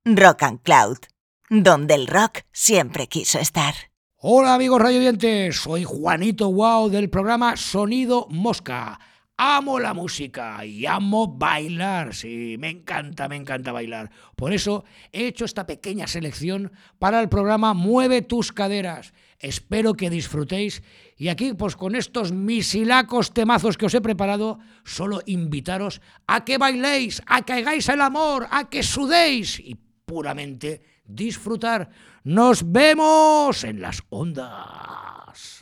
Rock and Cloud, donde el rock siempre quiso estar. Hola amigos radioyentes, soy Juanito Guau del programa Sonido Mosca. Amo la música y amo bailar, sí, me encanta bailar. Por eso he hecho esta pequeña selección para el programa Mueve tus caderas. Espero que disfrutéis y aquí, pues con estos misilacos temazos que os he preparado, solo invitaros a que bailéis, a que hagáis el amor, a que sudéis y puramente disfrutar. Nos vemos en las ondas.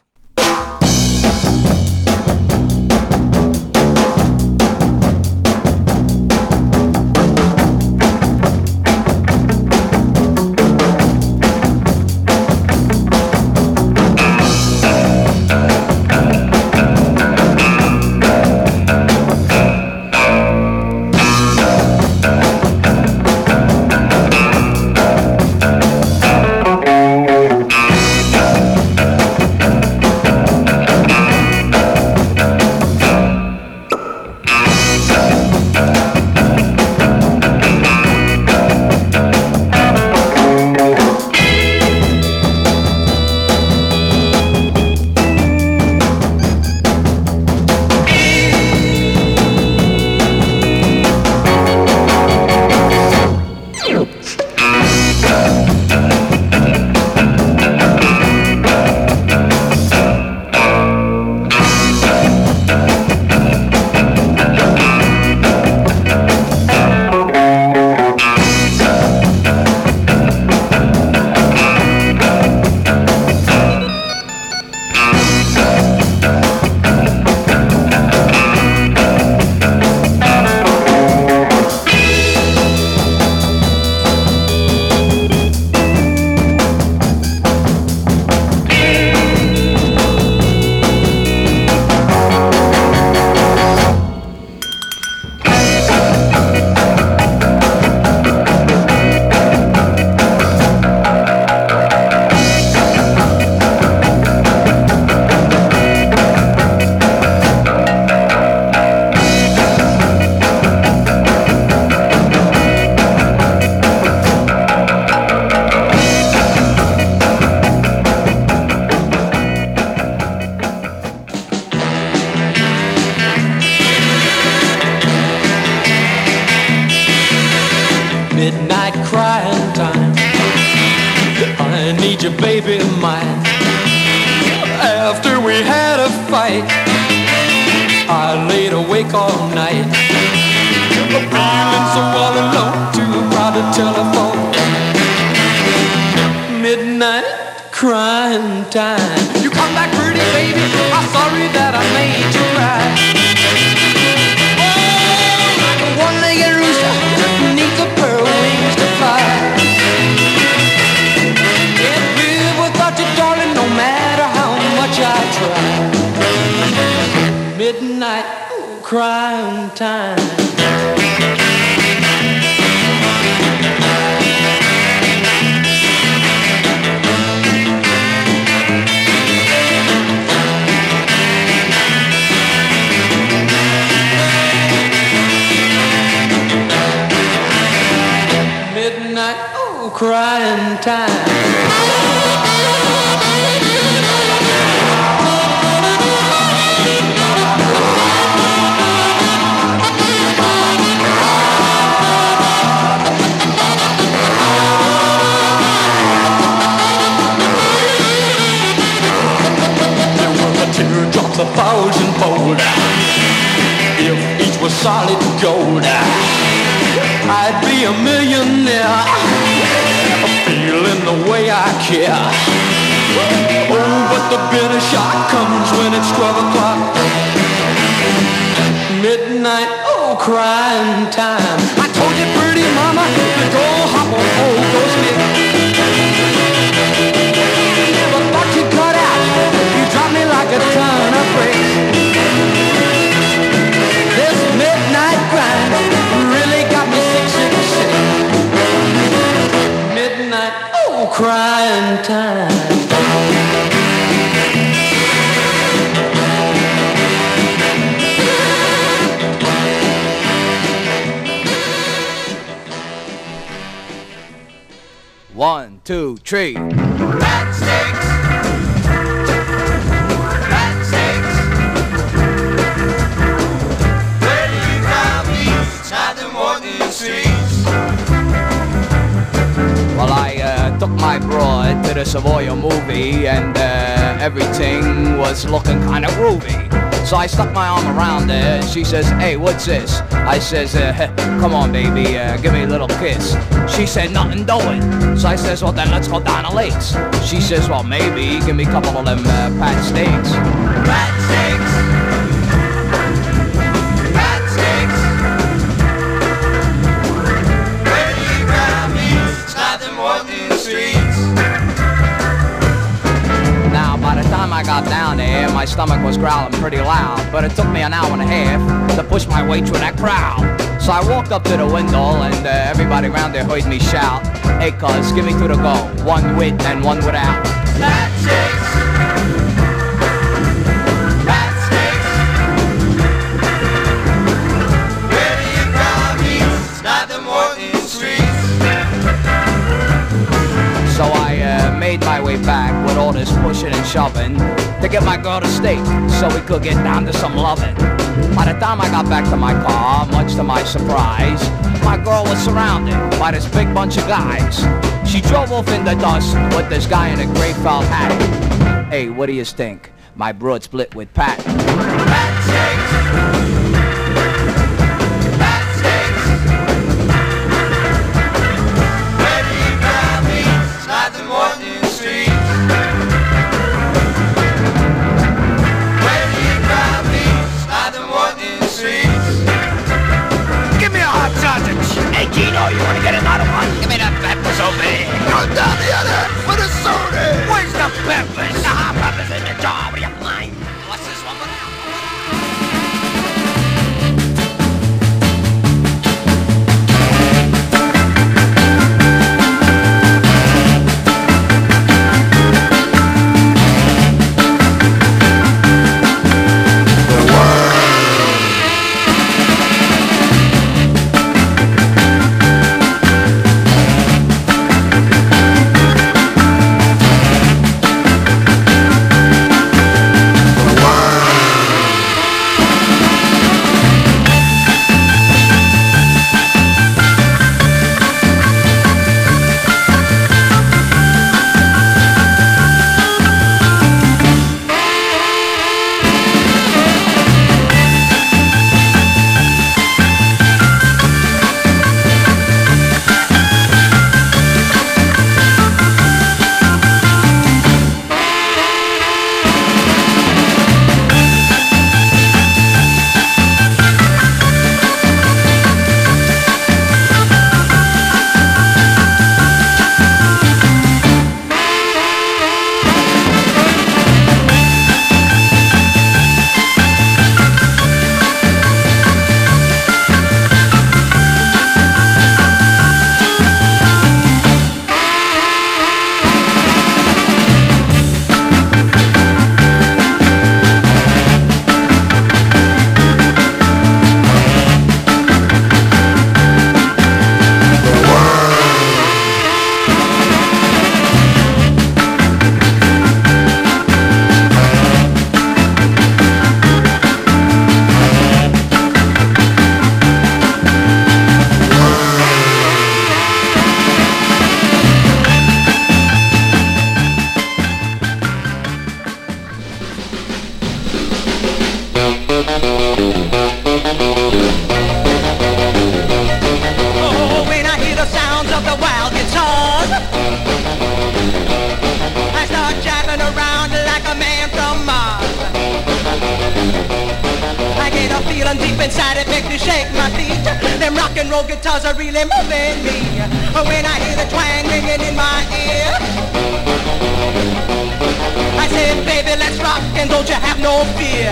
Crying time. Teardrops 1,000-fold. If each was solid gold, I'd be a millionaire, feeling the way I care. Oh, but the bitter shock comes when it's 12 o'clock. Midnight, oh, crying time. I told you, pretty mama, to go hop on old Ghost Nick. Never thought you'd cut out. You dropped me like a ton of bricks. This midnight grind really got me sick. Midnight, oh, crying time. 1, 2, 3. Matchsticks. Matchsticks. Where do you find me? Inside them walking streets. Well, I took my broad to the Savoy movie, and everything was looking kind of groovy. So I stuck my arm around her, and she says, hey, what's this? I says, come on, baby, give me a little kiss. She said, nothing doing. So I says, well, then let's go down the lakes. She says, well, maybe, give me a couple of them pat steaks. Pat steaks. Pat steaks. Where do you find me? Inside them walking streets. Now, by the time I got down there, my stomach was growling pretty loud, but it took me an hour and a half to push my way through that crowd. So I walked up to the window, and everybody around there heard me shout, hey, cuz, give me two to go, one with and one without. Matchsticks. Matchsticks. Where do you find me? Inside them walking streets. So I made my way back with all this pushing and shoving to get my girl to stay so we could get down to some loving. By the time I got back to my car, much to my surprise, my girl was surrounded by this big bunch of guys. She drove off in the dust with this guy in a gray felt hat. Hey, what do you think? My broad split with Pat. Matchsticks. Matchsticks. Where do you find me? Inside them walking streets. Where do you find me? Inside them walking streets. Give me a hot sausage. Hey, Gino, you want to get another one? Give me that peppers over there. Go down the other for the soda. Where's the peppers? The hot peppers in the jar. What do you mind? What's this one? feeling deep inside, it makes me shake my feet. Them rock and roll guitars are really moving me. When I hear the twang ringing in my ear, I say, baby, let's rock and don't you have no fear.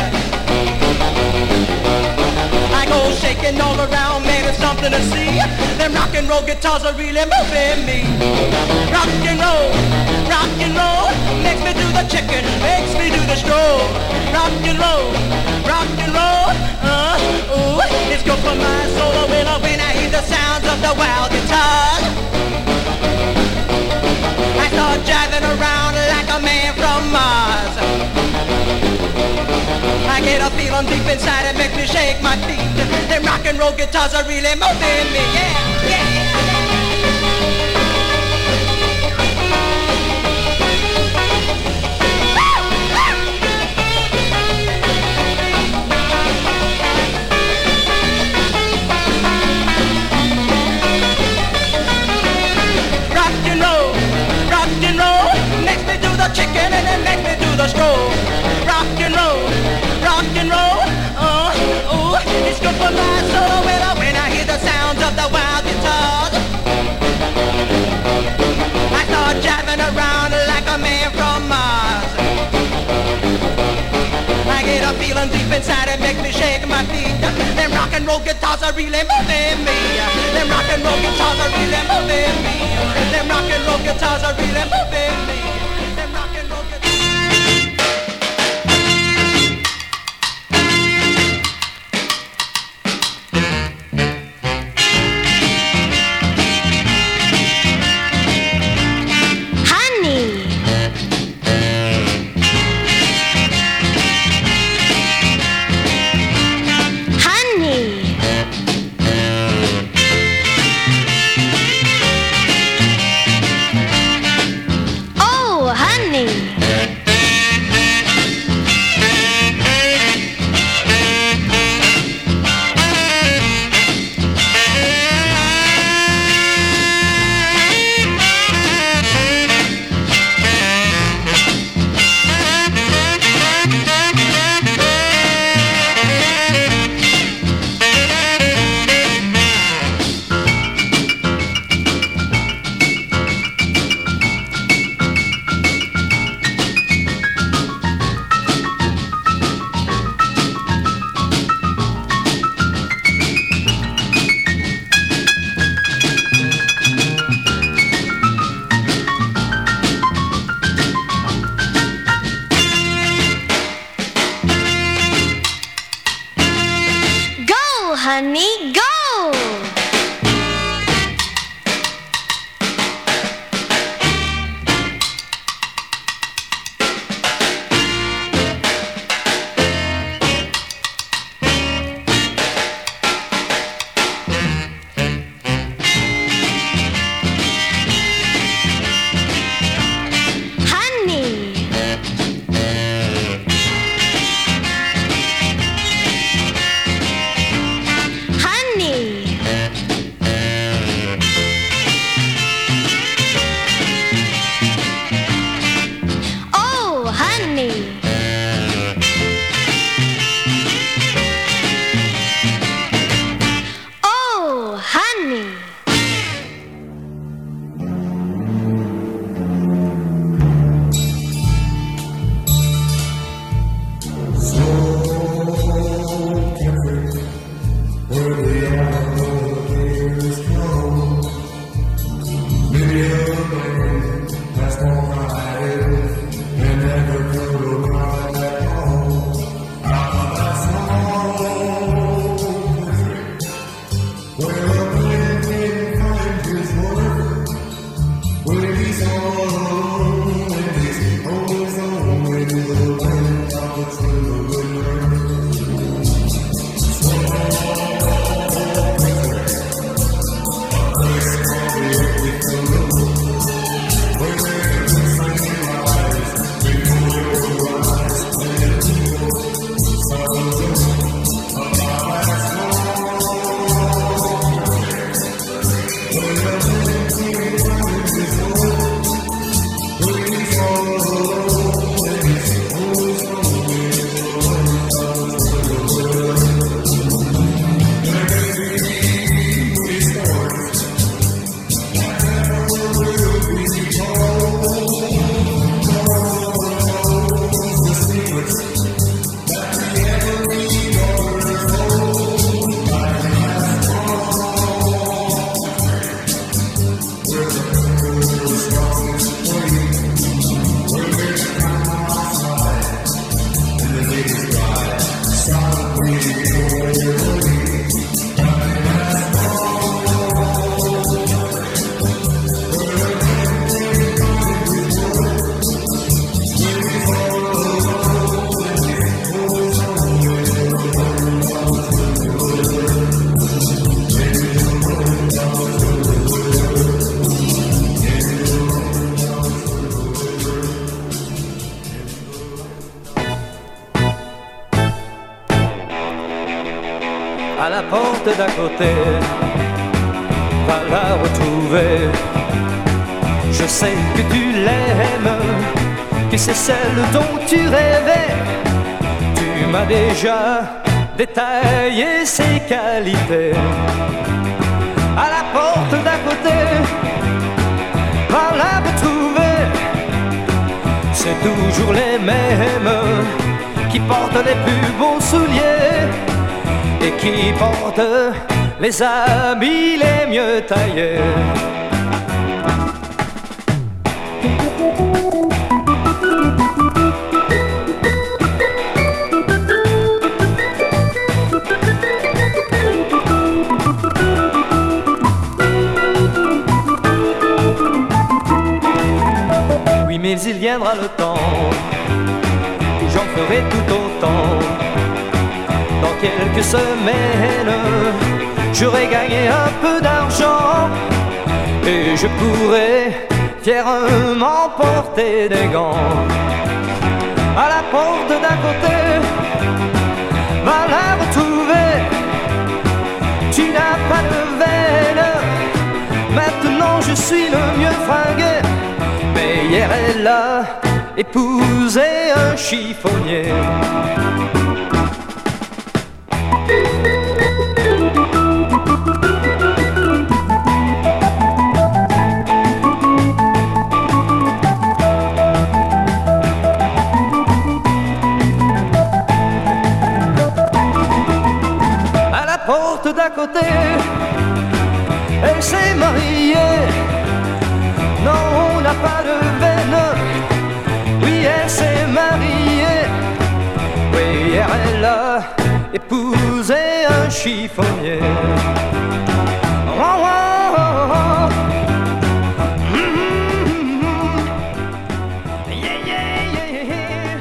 I go shaking all around, man, it's something to see. Them rock and roll guitars are really moving me. Rock and roll makes me do the chicken, makes me do the stroll. Rock and roll, ooh, it's good for my soul. When I hear the sounds of the wild guitar. feeling deep inside, it makes me shake my feet. Them rock and roll guitars are really moving me, yeah, yeah. Chicken and it makes me do the stroll. Rock and roll, ooh, it's good for my soul. When I hear the sounds of the wild guitars, I start jiving around like a man from Mars. I get a feeling deep inside, it makes me shake my feet. Them rock and roll guitars are really moving me. Them rock and roll guitars are really moving me. Them rock and roll guitars are really moving me. honey, go! Honey, la porte d'à côté, va la retrouver. Je sais que tu l'aimes, que c'est celle dont tu rêvais. Tu m'as déjà détaillé ses qualités. À la porte d'à côté, va la retrouver. C'est toujours les mêmes qui portent les plus beaux souliers et qui portent les habits les mieux taillés. Oui, mais il viendra le temps où j'en ferai tout autant. Dans quelques semaines, j'aurai gagné un peu d'argent et je pourrai fièrement porter des gants. À la porte d'à côté, va la retrouver. Tu n'as pas de veine, maintenant je suis le mieux fringué. Mais hier elle a épousé un chiffonnier. Porte d'à côté, elle s'est mariée. Non, on n'a pas de veine. Oui, elle s'est mariée. Oui, hier elle a épousé un chiffonnier. Oh, oh, oh, oh. Yeah, yeah, yeah, yeah.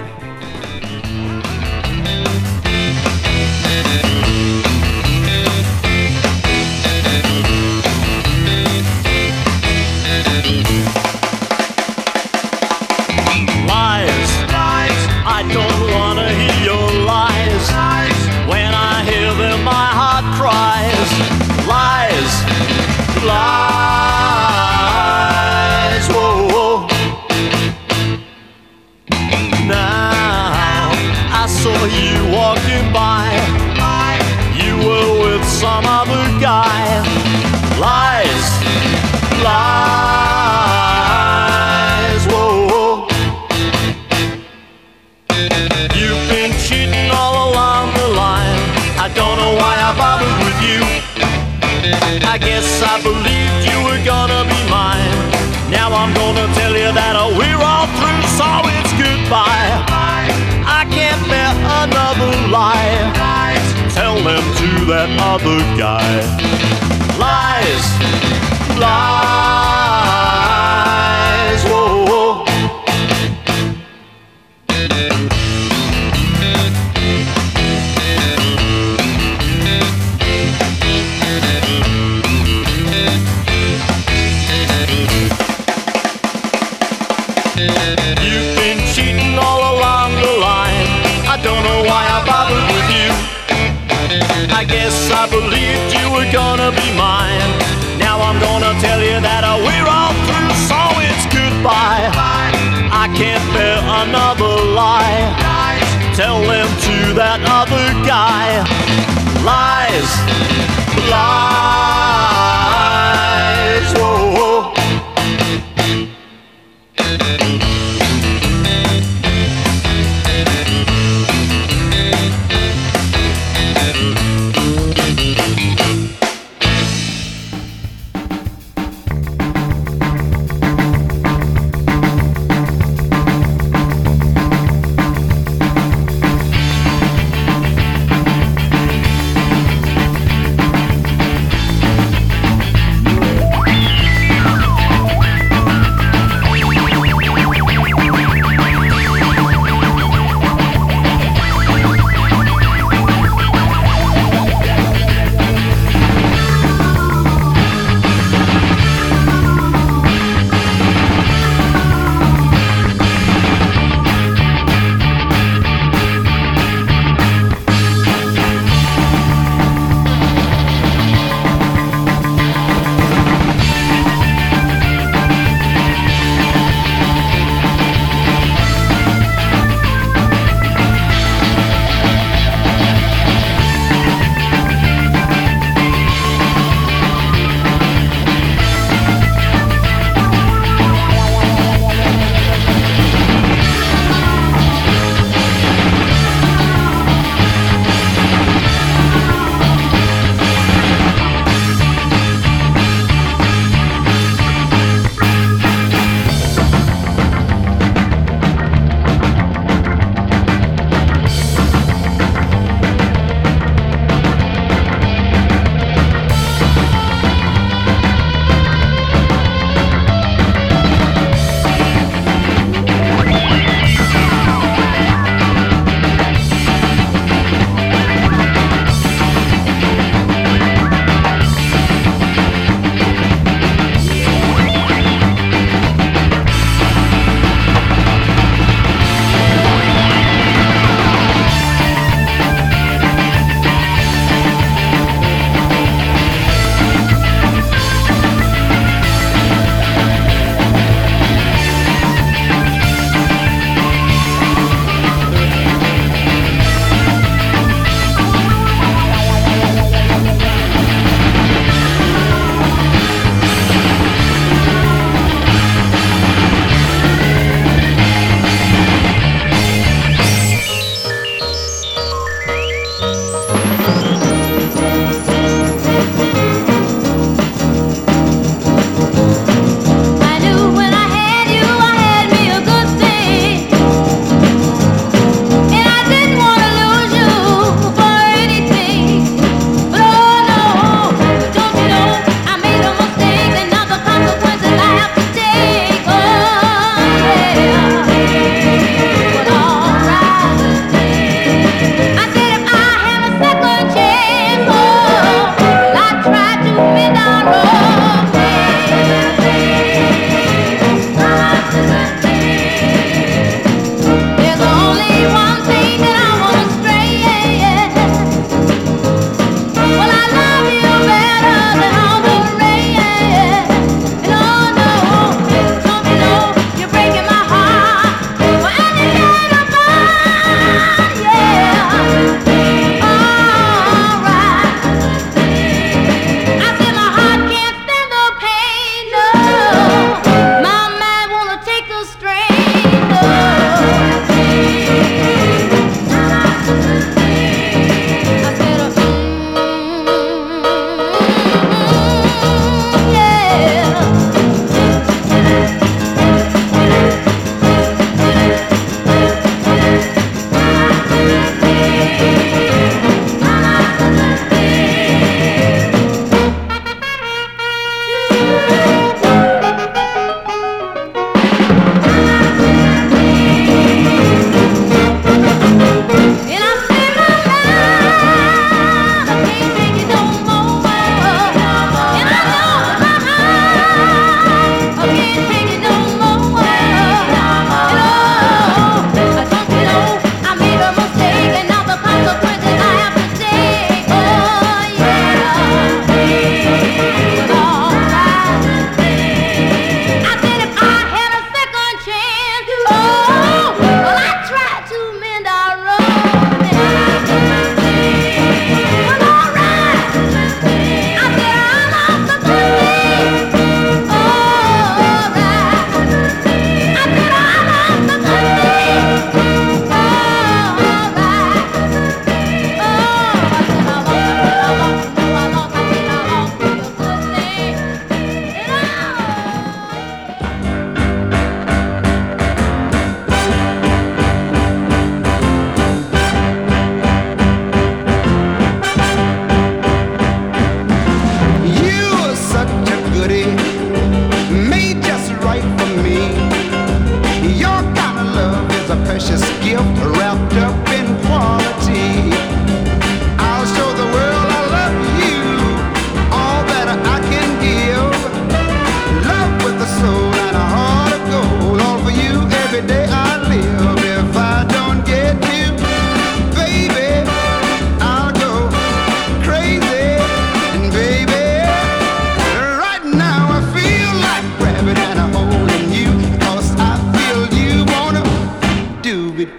I don't wanna hear your lies. When I hear them, my heart cries. Lies, lies. Whoa, whoa. Now I saw you walking by. You were with some other guy. Lies, lies. Whoa, whoa. You've been cheating all along the line. I don't know why I bothered with you. I guess I believed you were gonna be mine. Now I'm gonna tell you that we're all through, so it's goodbye. I can't bear another lie. Tell them to that other guy. Lies, lies. Whoa, whoa. You've been cheating all along the line. I don't know why I bothered with you. I guess I believed you were gonna be mine. Now I'm gonna tell you that we're all through, so it's goodbye. I can't bear another lie. Tell them to that other guy. Lies, lies. Whoa, whoa.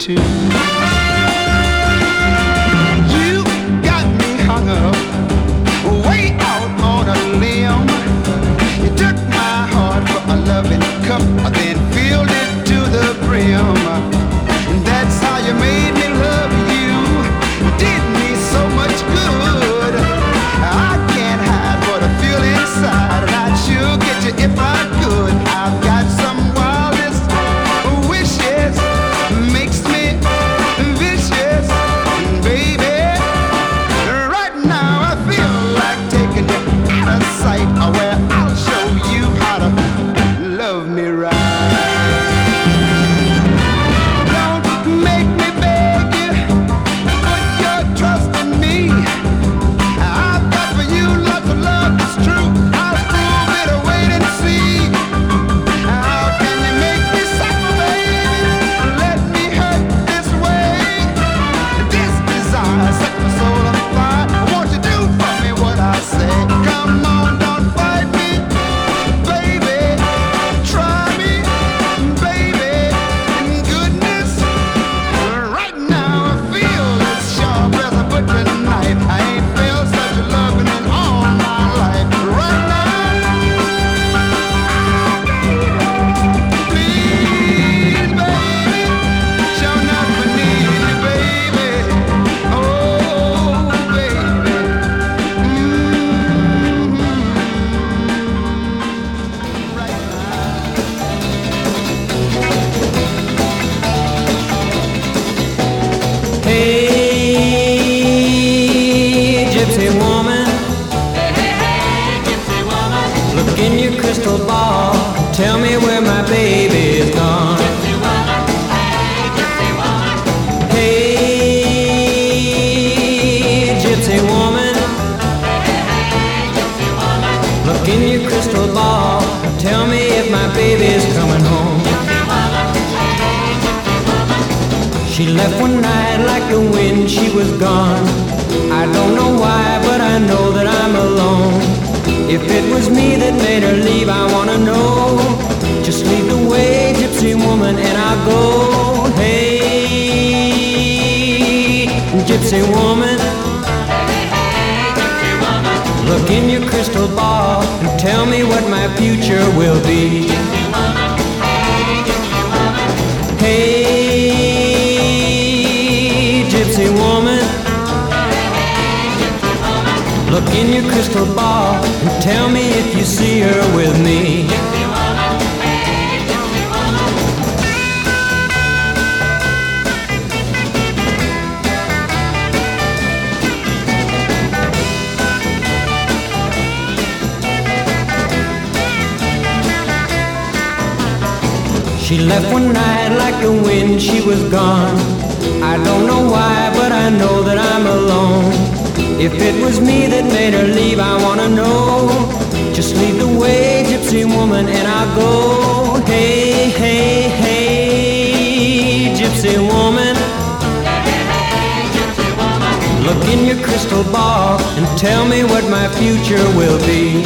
too. You got me hung up way out on a limb. You took my heart for a loving cup, then filled it to the brim. That's how you made me love you. Did me so much good. I can't hide what I feel inside, and I'd sure get you if I could. I've got some wildest wishes, makes me vicious, baby. Right now I feel like taking you out of sight, where I'll show you how to love me right. Don't make me beg you, put your trust in me. I've got for you lots of love that's true. I'll prove it, wait and see. How can you make me suffer, baby? Let me hurt this way. This desire set my soul on fire. Won't you do for me what I say? Come on, don't fight me, baby. Try me, baby. In goodness, right now I feel as sharp as a butcher knife. I ain't felt such a loving in all my life. Right now, please, baby, show enough I need you, baby. Oh, baby. Right Hey, gypsy woman, look in your crystal ball. Tell me where my baby is gone. Hey, gypsy woman, look in your crystal ball. Tell me if my baby's coming home. She left one night like the wind, she was gone. I don't know why, but I know that I'm alone. If it was me that made her leave, I wanna know. Just lead the way, gypsy woman, and I'll go. Hey, gypsy woman, look in your crystal ball and tell me what my future will be. Hey, gypsy woman, look in your crystal ball and tell me if you see her with me. She left one night like the wind, she was gone. I don't know why, but I know that I'm alone. If it was me that made her leave, I wanna know. Just lead the way, gypsy woman, and I'll go. Hey, hey, hey, gypsy woman, look in your crystal ball and tell me what my future will be.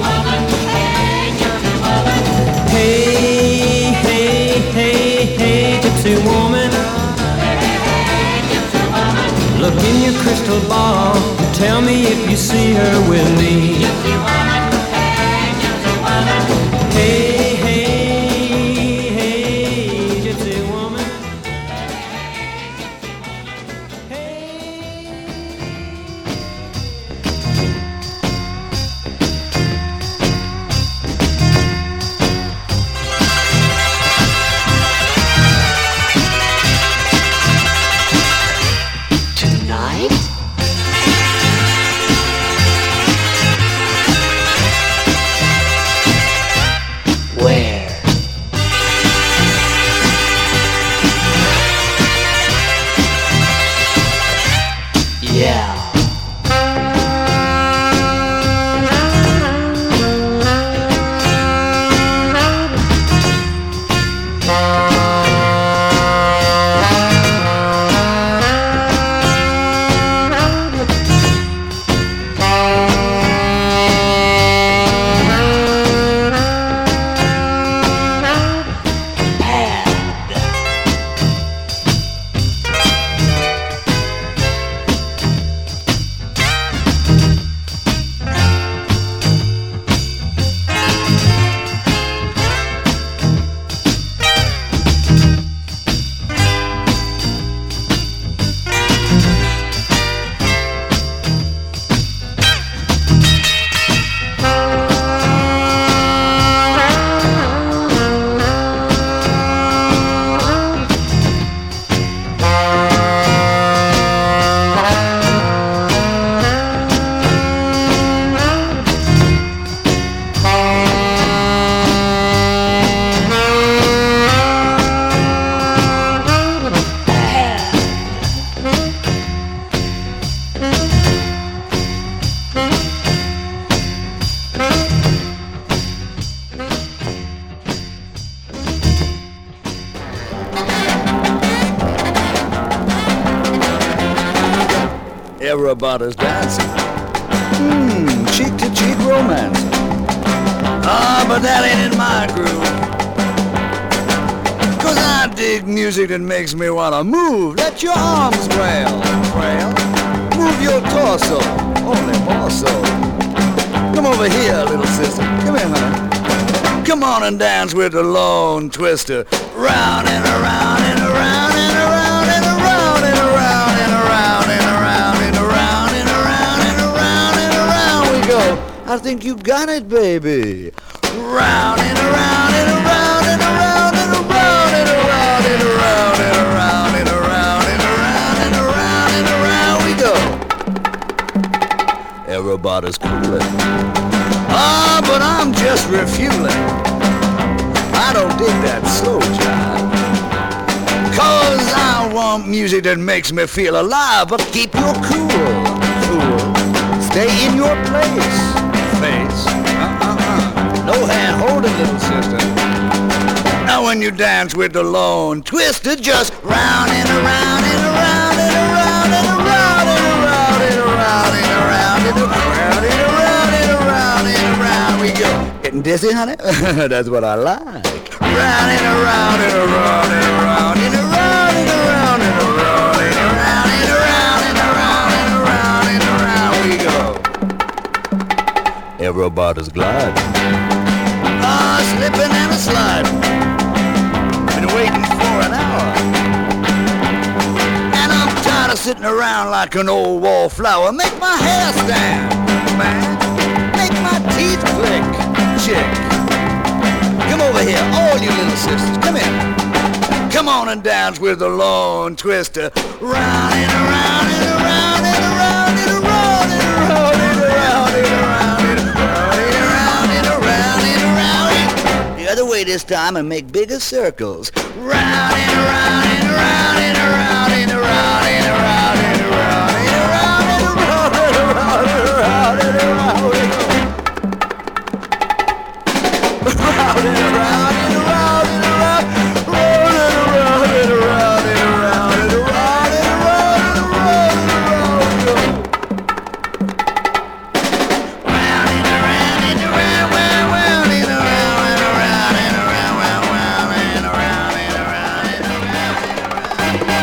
Hey, hey, hey, hey, gypsy woman, look in your crystal ball and tell me if you see her with me. Hey, hey, hey, gypsy woman. Tonight? Everybody's dancing. Cheek to cheek romance. Ah, but that ain't in my groove. 'Cause I dig music that makes me wanna move. Let your arms trail. Move your torso, only more so. Come over here, little sister. Come here, honey. Come on and dance with the lone twister. Round and around and around and around and around and around and around and around and around and around and around and around we go. I think you got it, baby. Round and around and around and around and around and around and around and around and around and around and around and around we go. Everybody's cooling. Ah, but I'm just refueling. I don't dig that slow jive. 'Cause I want music that makes me feel alive. But keep your cool, fool. Stay in your place, face. No hand holding, little sister. Now when you dance with the lone twister, just round and around and around and around and around and around and around and around and around and around and around and around we go. Getting dizzy, honey? That's what I like. Round and around and around and around and around and around and around and around and around and around and around and around we go. Everybody's gliding. Ah, slipping and a sliding. Been waiting for an hour. And I'm tired of sitting around like an old wallflower. Make my hair stand, man. Make my teeth click, chick. Come over here, all you little sisters, come here. Come on and dance with the lone twister. Round and around and around and around and around and around and around and around and around and around and around and around. The other way this time and make bigger circles. Round and around and around and around and around and around and around and around and around and around and around and around. Round and around and around and around, round and around and around and around and around and around and around and around. Round and around and around, round and around and around and around and around and around and around and around.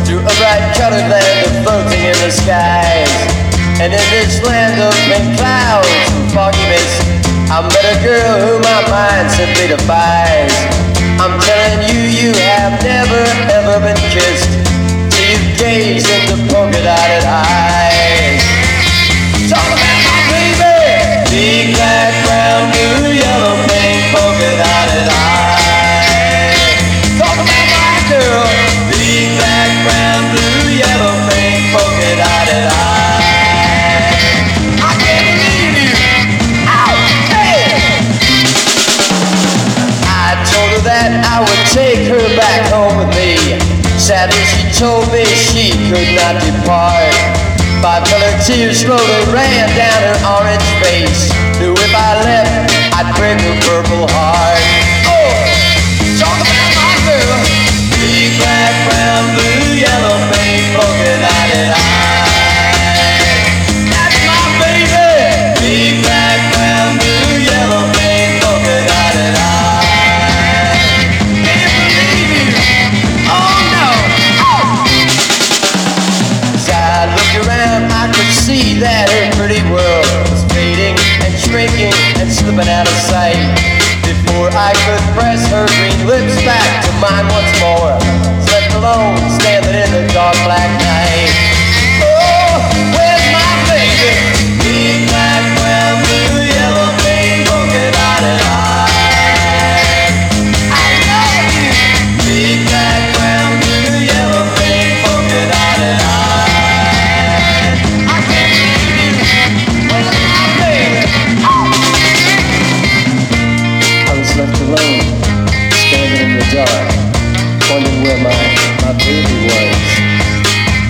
to a bright colored land of floating in the skies. And in this land of pink clouds and foggy mist, I met a girl who my mind simply defies. I'm telling you, you have never ever been kissed till you gaze into polka-dotted eyes. Talk about my baby, big black, brown, blue, yellow, pink, polka-dotted eyes. Talk about my girl, big black, brown, blue, yellow, pink, polka-dotted eyes. I can't believe you. Ow, hey! I told her that I would take her back home with me. Sadly, she told me she could not depart. 5 colored tears slowly ran down her orange face. Knew if I left, I'd break her purple heart. Oh, talk about my girl. Big black, brown, blue, yellow, pink, polka-dotted eyes. That's my baby. Big black, brown, blue, yellow, pink, polka-dotted eyes. Can't believe you. Oh no. Oh. As I looked around, I could see that her pretty world was fading and shrinking and slipping out of sight. Before I could press her green lips back to mine once more, left alone, standing in the dark black night. Oh, where's my baby? Big black, brown, blue, yellow, pink, polka-dotted eyes. I love you. Big black, brown, blue, yellow, pink, polka-dotted eyes. I can't believe you. Where's my baby? Oh. I was left alone, standing in the dark, wondering where my baby was.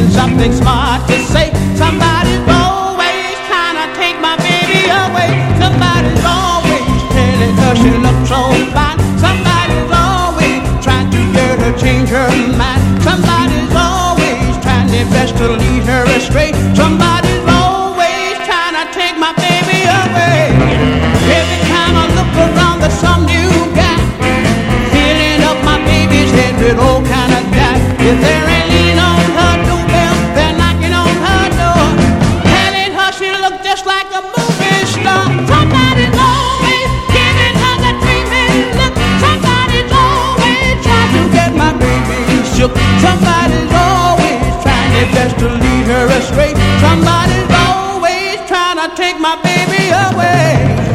thinking something smart to say. Somebody's always trying to take my baby away. Somebody's always telling her she looks so fine. Somebody's always trying to get her change her mind. Somebody's always trying their best to lead her astray. Somebody's always trying to take my baby away. Every time I look around, there's some new guy filling up my baby's head with all kind of doubt. If there ain't lean on her doorbell, they're knocking on her door, telling her she look just like a movie star. Somebody's always giving her the dreaming look. Somebody's always trying to get my baby shook. Somebody's always trying their best to lead her astray. Somebody's always trying to take my baby away.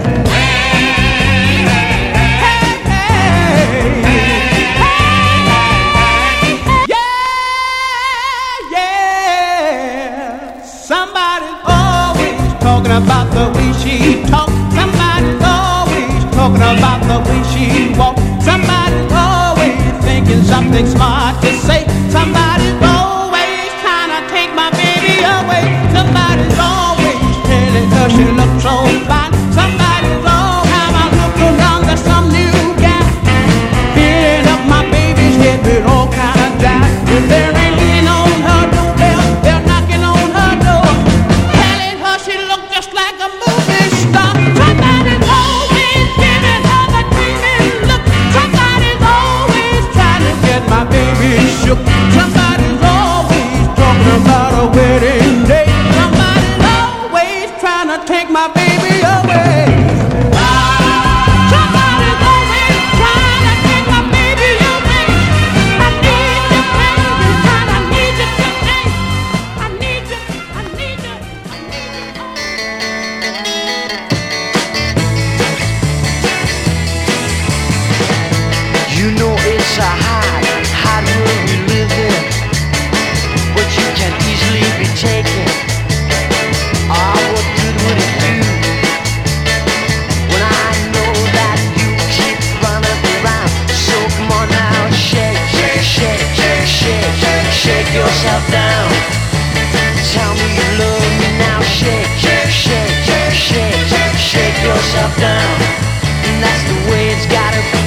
About the way she talk, somebody's always talking about the way she walk. Somebody's always thinking something smart to say. Somebody's always trying to take my baby away. Somebody's always telling her she looks so fine. Somebody's all time I look around, there's some new guy filling up my baby's head with all kind of doubt. If there ain't leaning on her doorbell, they're knocking on her door, telling her she looks just like a movie star. Somebody's always giving her the dreaming look. Somebody's always trying to get my baby shook. Somebody's always talking about a wedding day. Somebody's always trying to take my baby away. Somebody's always trying to take my baby away. I need you, baby, and I need you today. I need you, I need you, I need you. You know it's a hard world we live in, but you can easily be taken. Ah, what good would it do when I know that you keep running around? So come on now, shake, shake, shake, shake, shake, shake, shake yourself down. Tell me you love me now, shake, shake, shake, shake, shake, shake, shake yourself down. And that's the way it's gotta be.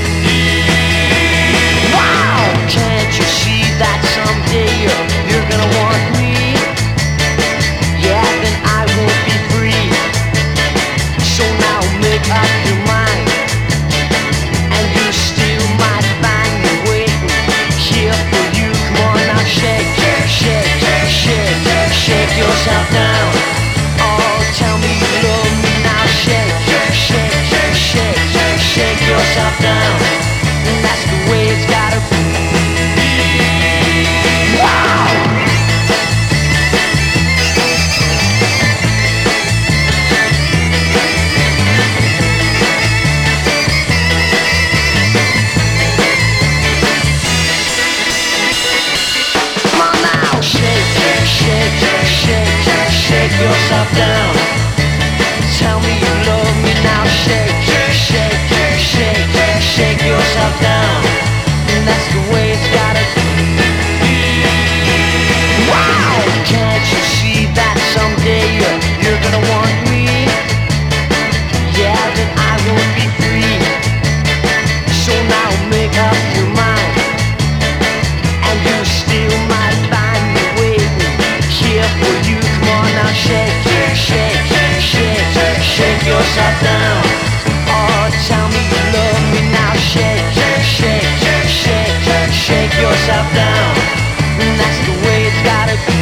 Can't you see that someday you're gonna want me? Yeah, then I won't be free. So now make up your mind, and you still might find me waiting here for you. Come on now, shake, shake, shake, shake, shake yourself down. Oh, tell me you love me now, shake, shake, shake, shake, shake yourself down. And that's the way it's gotta be. Shake yourself down. Tell me you love me now. Shake, shake, shake, shake yourself down. And that's the way it's gotta be. Wow! Can't you see that someday you're gonna want me? Yeah, then I won't be free. So now make up your mind, and you still might find me waiting here for you. Come on now, shake, shake, shake, shake yourself down. Oh, tell me you love me now. Shake, shake, shake, shake yourself down. And that's the way it's gotta be.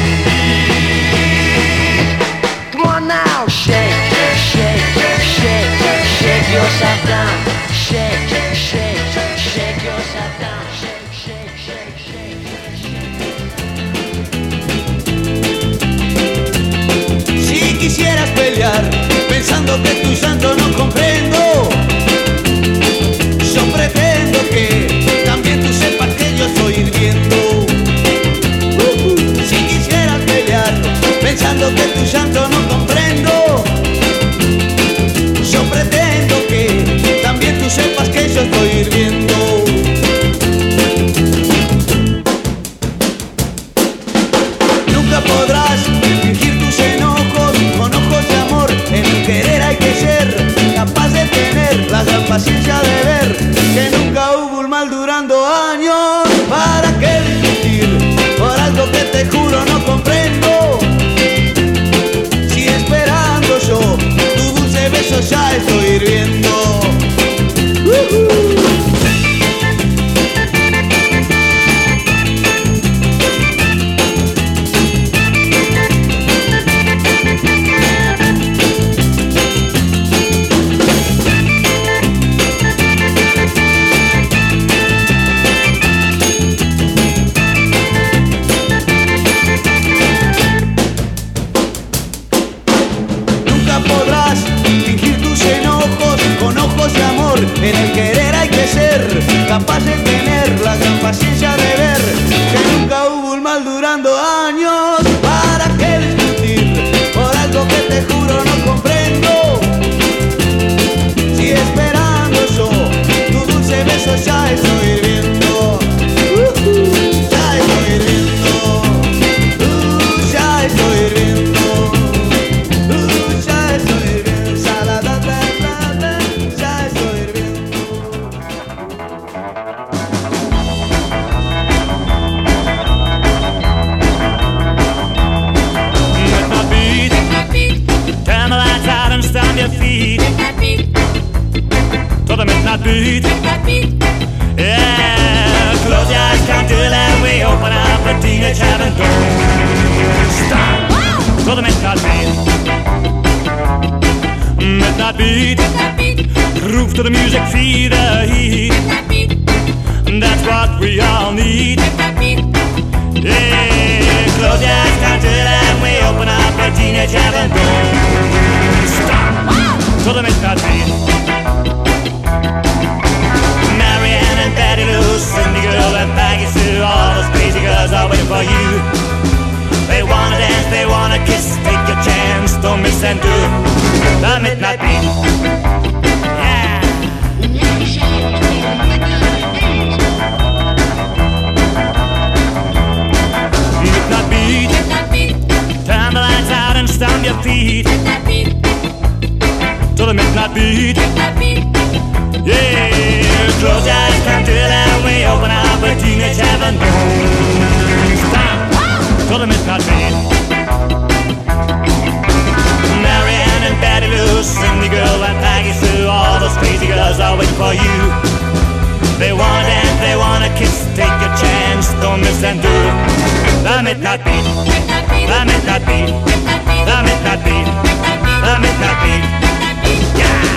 Come on now, shake, shake, shake, shake yourself down. Shake, shake, shake yourself down. Shake, shake, shake, shake, shake. Si quisieras pelear pensando que tu santo no comprendo, yo pretendo que también tú sepas que yo estoy hirviendo. Si quisieras pelear pensando que tu santo no comprendo, yo pretendo que también tú sepas que yo estoy hirviendo. Nunca podrás fingir tus enojos con ojos de amor. En el querer hay que ser capaz de tener la gran paciencia de ver que nunca hubo un mal durando años. ¿Para qué discutir por algo que te juro no comprendo? Si esperando yo tu dulce beso ya estoy hirviendo. En el querer hay que ser capaz de tener la gran paciencia de ver que nunca hubo un mal durando años. ¿Para qué discutir por algo que te juro no comprendo? Si esperando yo tu dulce beso ya estoy hirviendo. Ya estoy hirviendo. Ya estoy hirviendo. Ya estoy hirviendo. Salada, ya estoy hirviendo. Turn the lights out and stomp your feet to the midnight beat. Yeah, close your eyes, count till and we open up a teenage heaven door. Stop to the midnight beat. Midnight beat. Groove to the music, feel the heat. That's what we all need. Yeah, close your eyes, count till and we open up a teenage heaven door. Stop to the midnight beat. Marianne and Betty Lou, Cindy Girl and Peggy Sue, all those crazy girls are waiting for you. They wanna dance, they wanna kiss, take your chance, don't miss and do the midnight beat. Yeah. Midnight beat. Turn the lights out and stomp your feet to the midnight beat. Yeah, close your eyes, count till and we open up a teenage heaven. Stop to the midnight beat. Marianne and Betty Lou, Cindy Girl and Peggy Sue, all those crazy girls are waiting for you. They wanna dance, they wanna kiss, take your chance, don't miss and do the midnight beat. The midnight beat. The midnight beat. The midnight beat. Yeah.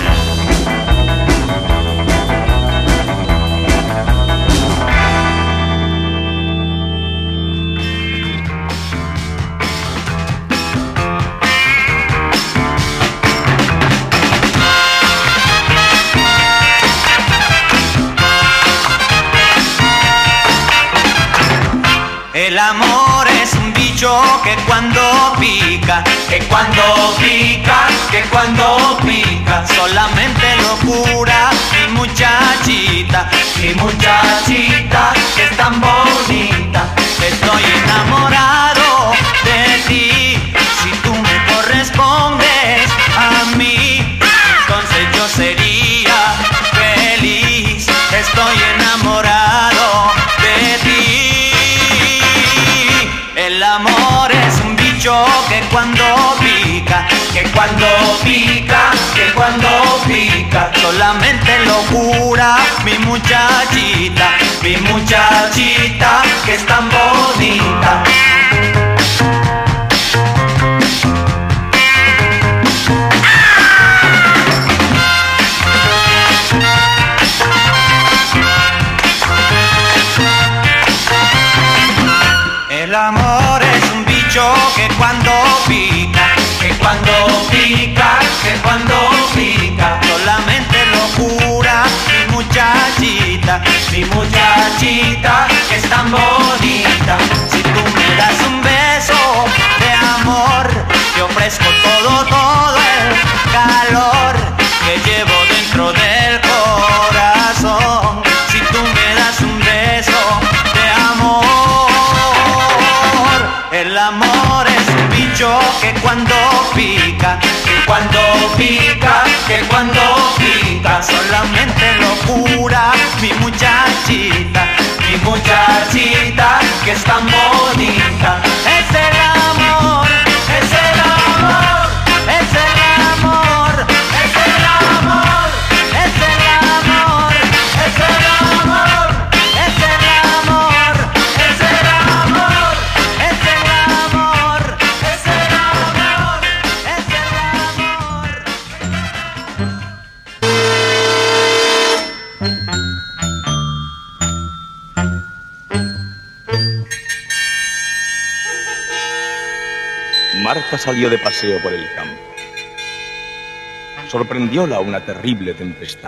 El amor es un bicho que cuando pica, que cuando pica, que cuando pica, solamente locura, mi muchachita, que es tan bonita. Estoy enamorado de ti, si tú me correspondes a mí, entonces yo sería feliz. Estoy enamorado de ti. El amor es un bicho que cuando pica, que cuando pica, que cuando pica, solamente locura, mi muchachita, que es tan bonita. El amor es un bicho que cuando pica, que cuando pica, que cuando pica, solamente locura, mi muchachita, que es tan bonita. Si tú me das un beso de amor, te ofrezco todo el calor que llevo dentro del corazón. Si tú me das un beso de amor, El amor es un bicho que cuando pica, que cuando pica, que cuando pica, solamente lo cura mi muchachita que es tan bonita. Es el amor, es el amor, es el amor, es el amor, es el amor, es el amor, es el amor, es el amor, es el amor, es el amor, es el amor. Marta salió de paseo por el campo. Sorprendióla una terrible tempestad.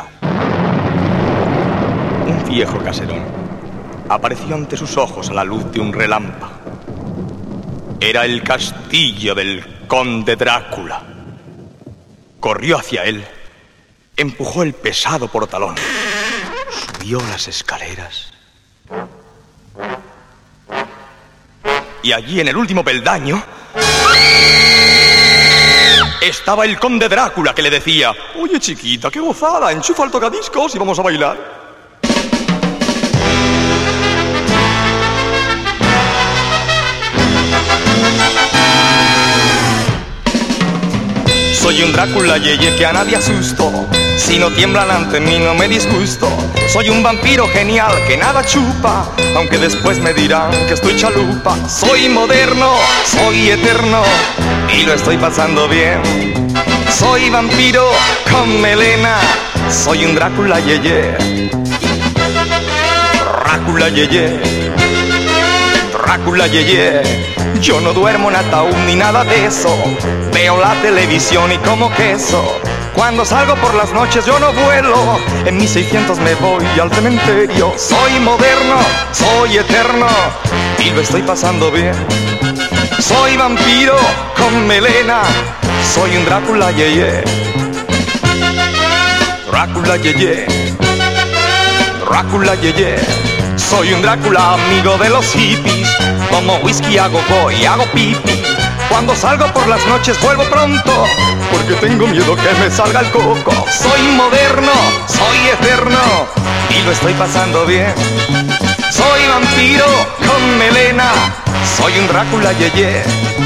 Un viejo caserón apareció ante sus ojos a la luz de un relámpago. Era el castillo del conde Drácula. Corrió hacia él, empujó el pesado portalón, subió las escaleras. Y allí, en el último peldaño, estaba el conde Drácula, que le decía: oye, chiquita, qué gozada, enchufa el tocadiscos y vamos a bailar. Soy un Drácula yeye que a nadie asusto. Si no tiemblan ante mí no me disgusto. Soy un vampiro genial que nada chupa, aunque después me dirán que estoy chalupa. Soy moderno, soy eterno y lo estoy pasando bien. Soy vampiro con melena, soy un Drácula yeye. Drácula yeye, Drácula yeye. Yo no duermo en ataúd ni nada de eso. Veo la televisión y como queso. Cuando salgo por las noches yo no vuelo. En mis 600 me voy al cementerio. Soy moderno, soy eterno y lo estoy pasando bien. Soy vampiro con melena, soy un Drácula yeye. Drácula yeye, Drácula yeye. Soy un Drácula amigo de los hippies. Tomo whisky, hago go y hago pipi. Cuando salgo por las noches vuelvo pronto, porque tengo miedo que me salga el coco. Soy moderno, soy eterno y lo estoy pasando bien. Soy vampiro con melena, soy un Drácula yeye.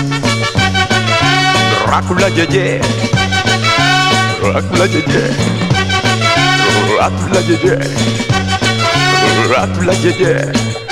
Drácula yeye, Drácula yeye, Drácula yeye, Drácula yeye.